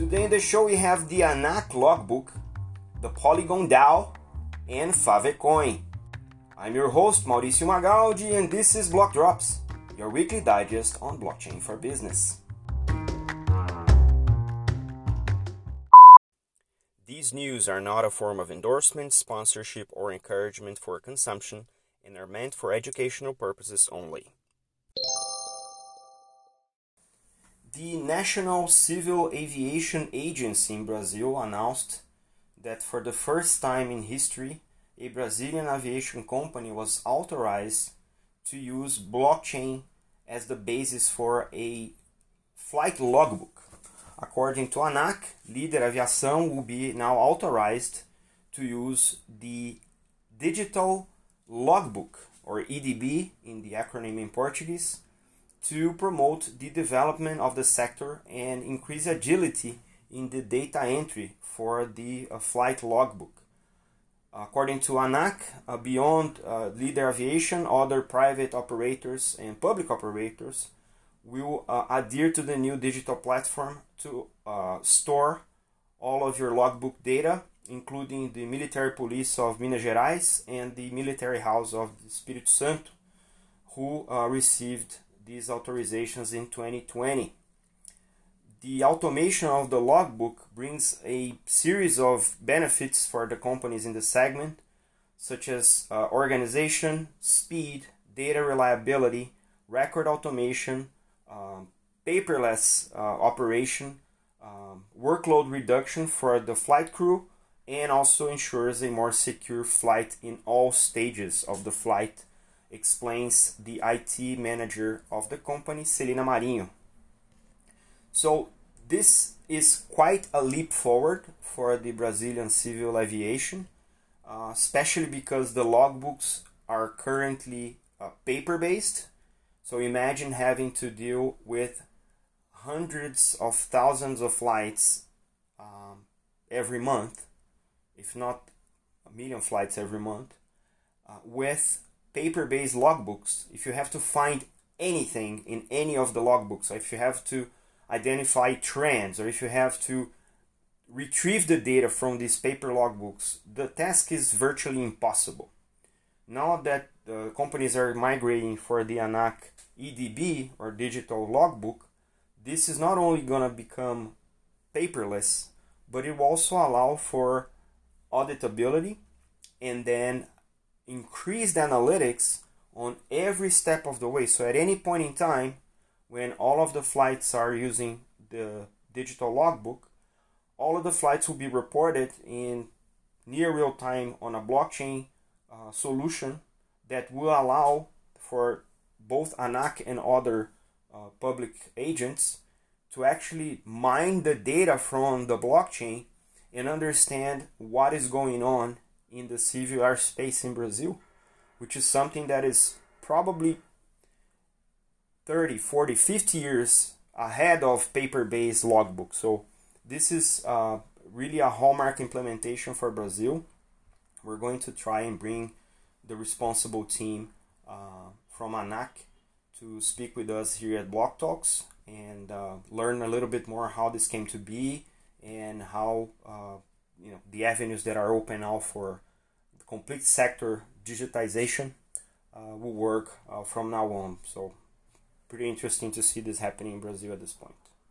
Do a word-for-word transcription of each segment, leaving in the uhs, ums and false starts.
Today in the show we have the ANAC logbook, the Polygon DAO, and Favecoin. I'm your host Mauricio Magaldi and this is Block Drops, your weekly digest on blockchain for business. These news are not a form of endorsement, sponsorship, or encouragement for consumption and are meant for educational purposes only. The National Civil Aviation Agency in Brazil announced that for the first time in history, a Brazilian aviation company was authorized to use blockchain as the basis for a flight logbook. According to ANAC, Líder Aviação will be now authorized to use the digital logbook, or E D B in the acronym in Portuguese, to promote the development of the sector and increase agility in the data entry for the uh, flight logbook. According to ANAC, uh, beyond uh, Líder Aviation, other private operators and public operators will uh, adhere to the new digital platform to uh, store all of your logbook data, including the military police of Minas Gerais and the military house of Espírito Santo, who uh, received these authorizations in twenty twenty. The automation of the logbook brings a series of benefits for the companies in the segment, such as uh, organization, speed, data reliability, record automation, um, paperless uh, operation, um, workload reduction for the flight crew, and also ensures a more secure flight in all stages of the flight, explains the I T manager of the company, Celina Marinho. So this is quite a leap forward for the Brazilian civil aviation, uh, especially because the logbooks are currently uh, paper-based. So imagine having to deal with hundreds of thousands of flights um, every month, if not a million flights every month, uh, with paper-based logbooks. If you have to find anything in any of the logbooks, or if you have to identify trends, or if you have to retrieve the data from these paper logbooks, the task is virtually impossible. Now that the companies are migrating for the ANAC E D B, or digital logbook, this is not only going to become paperless, but it will also allow for auditability and then increased analytics on every step of the way. So at any point in time, when all of the flights are using the digital logbook, all of the flights will be reported in near real time on a blockchain uh, solution that will allow for both ANAC and other uh, public agents to actually mine the data from the blockchain and understand what is going on in the civil airspace in Brazil, which is something that is probably thirty, forty, fifty years ahead of paper-based logbook. So this is uh, really a hallmark implementation for Brazil. We're going to try and bring the responsible team uh, from ANAC to speak with us here at Block Talks and uh, learn a little bit more how this came to be and how uh, you know the avenues that are open now for the complete sector digitization uh, will work uh, from now on. So pretty interesting to see this happening in Brazil at this point.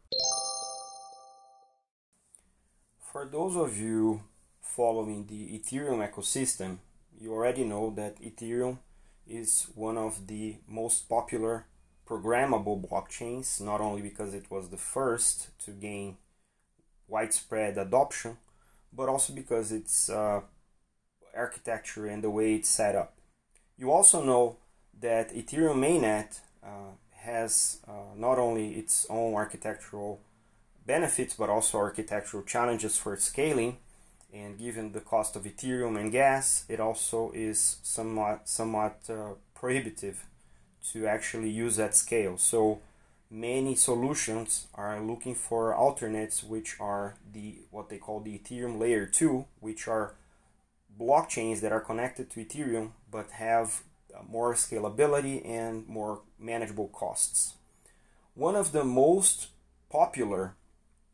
For those of you following the Ethereum ecosystem, you already know that Ethereum is one of the most popular programmable blockchains, not only because it was the first to gain widespread adoption, but also because its uh, architecture and the way it's set up. You also know that Ethereum mainnet uh, has uh, not only its own architectural benefits, but also architectural challenges for scaling. And given the cost of Ethereum and gas, it also is somewhat, somewhat uh, prohibitive to actually use at scale. So many solutions are looking for alternates, which are the what they call the Ethereum layer two, which are blockchains that are connected to Ethereum but have more scalability and more manageable costs. One of the most popular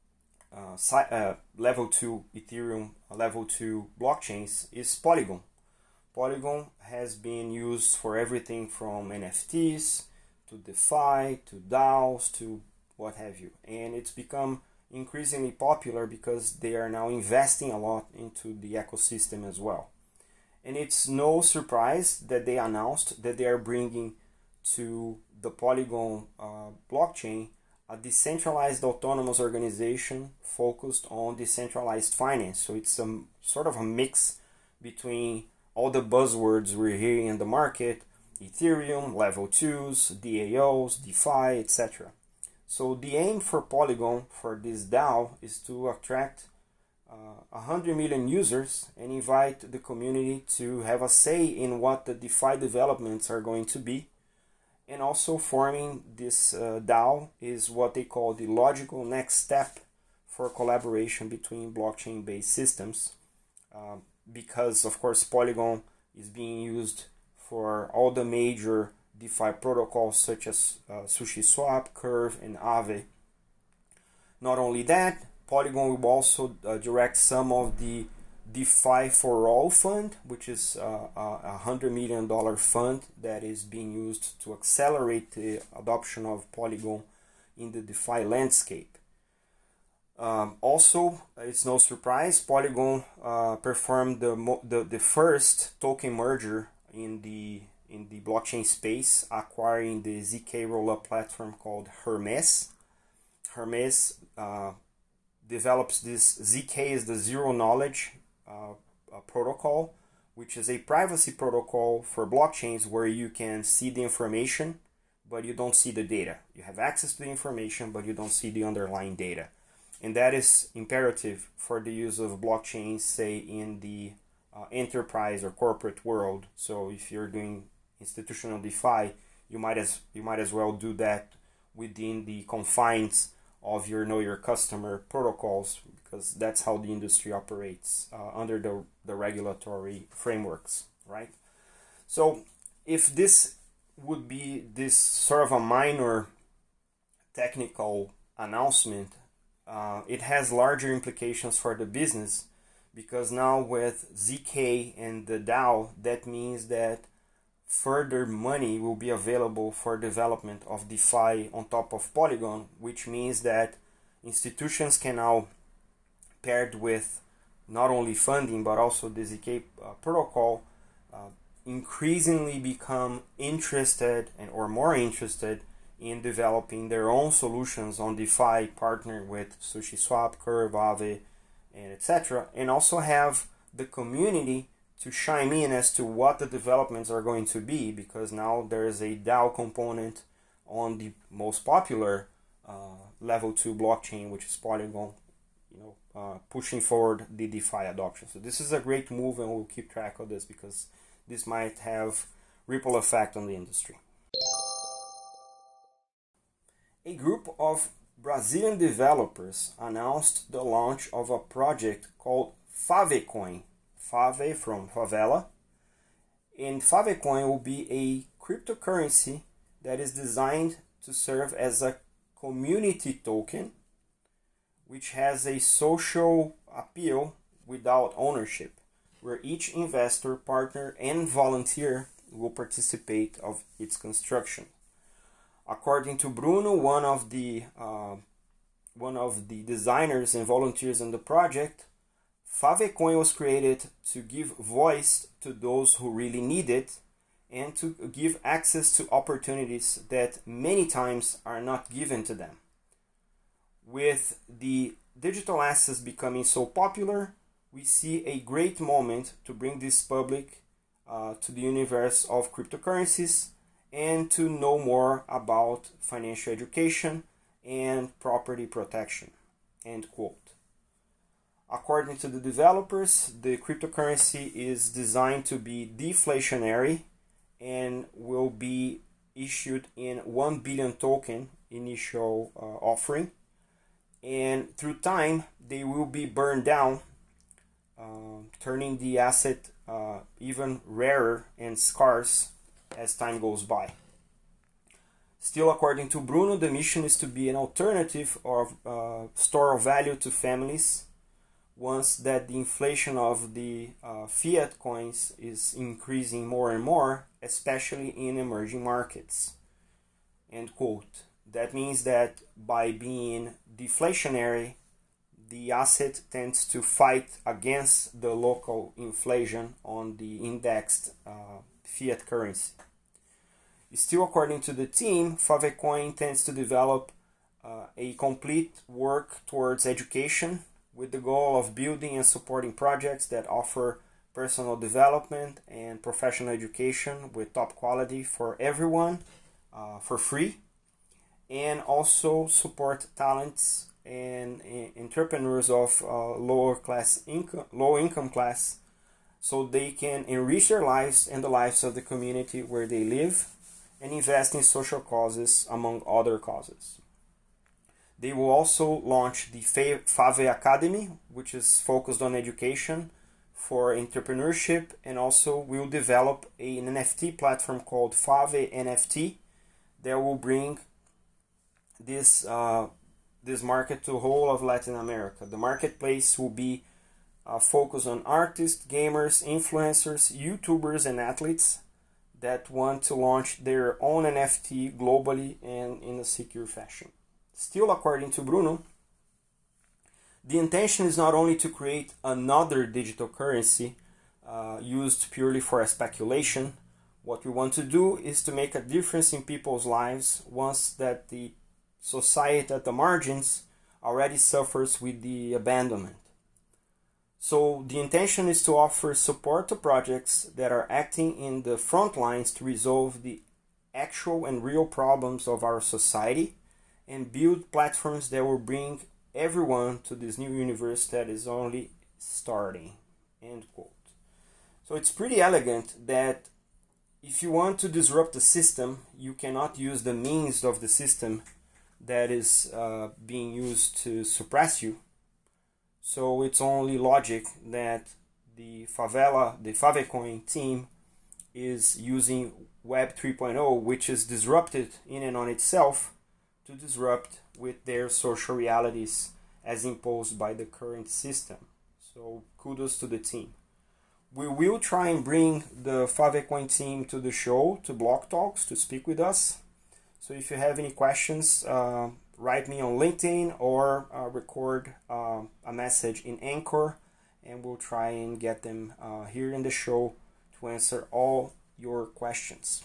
uh, uh, level two Ethereum, level two blockchains is Polygon. Polygon has been used for everything from N F Ts to DeFi to DAOs to what have you, and it's become increasingly popular because they are now investing a lot into the ecosystem as well. And it's no surprise that they announced that they are bringing to the Polygon uh, blockchain a decentralized autonomous organization focused on decentralized finance. So it's a sort of a mix between all the buzzwords we're hearing in the market: Ethereum, level twos, D A Os, DeFi, et cetera. So the aim for Polygon, for this DAO, is to attract uh, one hundred million users and invite the community to have a say in what the DeFi developments are going to be. And also forming this uh, DAO is what they call the logical next step for collaboration between blockchain-based systems. Uh, because, of course, Polygon is being used for all the major DeFi protocols such as uh, SushiSwap, Curve, and Aave. Not only that, Polygon will also uh, direct some of the DeFi for All fund, which is uh, a one hundred million dollars fund that is being used to accelerate the adoption of Polygon in the DeFi landscape. Um, also, it's no surprise, Polygon uh, performed the, the the first token merger in the in the blockchain space, acquiring the Z K rollup platform called Hermes. Hermes uh, develops this. Z K is the zero knowledge uh, protocol, which is a privacy protocol for blockchains where you can see the information, but you don't see the data. You have access to the information, but you don't see the underlying data. And that is imperative for the use of blockchains, say, in the uh, enterprise or corporate world. So if you're doing institutional DeFi, you might as you might as well do that within the confines of your know your customer protocols, because that's how the industry operates uh, under the, the regulatory frameworks, right? So if this would be this sort of a minor technical announcement, uh, it has larger implications for the business, because now with Z K and the DAO, that means that further money will be available for development of DeFi on top of Polygon, which means that institutions can now, paired with not only funding but also the Z K uh, protocol, uh, increasingly become interested and or more interested in developing their own solutions on DeFi, partner with SushiSwap, Curve, Aave, and et cetera, and also have the community to chime in as to what the developments are going to be, because now there is a DAO component on the most popular uh, level two blockchain, which is Polygon, you know, uh, pushing forward the DeFi adoption. So this is a great move, and we'll keep track of this because this might have ripple effect on the industry. A group of Brazilian developers announced the launch of a project called Favecoin. Fave from favela, and Favecoin will be a cryptocurrency that is designed to serve as a community token, which has a social appeal without ownership, where each investor, partner, and volunteer will participate of its construction. According to Bruno, one of the uh, one of the designers and volunteers in the project, Favecoin was created to give voice to those who really need it and to give access to opportunities that many times are not given to them. With the digital assets becoming so popular, we see a great moment to bring this public uh, to the universe of cryptocurrencies and to know more about financial education and property protection. End quote. According to the developers, the cryptocurrency is designed to be deflationary and will be issued in one billion token initial uh, offering. And through time, they will be burned down, uh, turning the asset uh, even rarer and scarce as time goes by. Still, according to Bruno, the mission is to be an alternative or uh, store of value to families once that the inflation of the uh, fiat coins is increasing more and more, especially in emerging markets. End quote. That means that by being deflationary, the asset tends to fight against the local inflation on the indexed uh, fiat currency. Still, according to the team, Favecoin intends to develop uh, a complete work towards education with the goal of building and supporting projects that offer personal development and professional education with top quality for everyone uh, for free, and also support talents and uh, entrepreneurs of uh, lower class income, low income class, so they can enrich their lives and the lives of the community where they live, and invest in social causes, among other causes. They will also launch the Fave Academy, which is focused on education for entrepreneurship, and also will develop an N F T platform called Fave N F T that will bring this uh, this market to the whole of Latin America. The marketplace will be uh, focused on artists, gamers, influencers, YouTubers, and athletes that want to launch their own N F T globally and in a secure fashion. Still, according to Bruno, the intention is not only to create another digital currency uh, used purely for speculation. What we want to do is to make a difference in people's lives once that the society at the margins already suffers with the abandonment. So the intention is to offer support to projects that are acting in the front lines to resolve the actual and real problems of our society and build platforms that will bring everyone to this new universe that is only starting. End quote. So it's pretty elegant that if you want to disrupt the system, you cannot use the means of the system that is uh, being used to suppress you. So it's only logic that the Favela, the Favecoin team is using Web three point oh, which is disrupted in and on itself, to disrupt with their social realities as imposed by the current system. So kudos to the team. We will try and bring the Favecoin team to the show, to Block Talks, to speak with us. So if you have any questions, uh, write me on LinkedIn or uh, record uh, a message in Anchor, and we'll try and get them uh, here in the show to answer all your questions.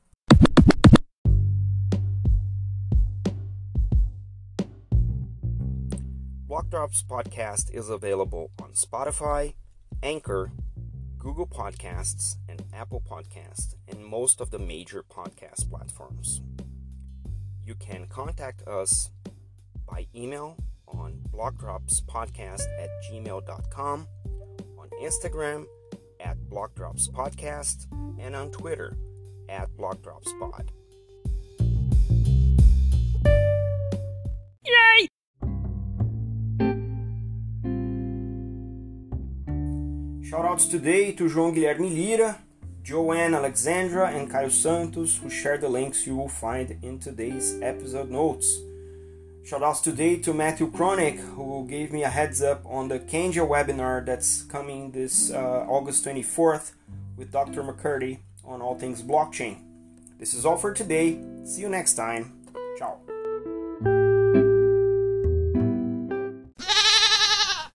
Block Drops Podcast is available on Spotify, Anchor, Google Podcasts, and Apple Podcasts, and most of the major podcast platforms. You can contact us by email on blockdropspodcast at gmail dot com, on Instagram at blockdropspodcast, and on Twitter at blockdropspod. Yay! Shoutouts today to João Guilherme Lira, Joanne Alexandra, and Caio Santos, who share the links you will find in today's episode notes. Shoutouts today to Matthew Kronick, who gave me a heads up on the Kenja webinar that's coming this uh, August twenty-fourth with Doctor McCurdy on all things blockchain. This is all for today. See you next time. Ciao.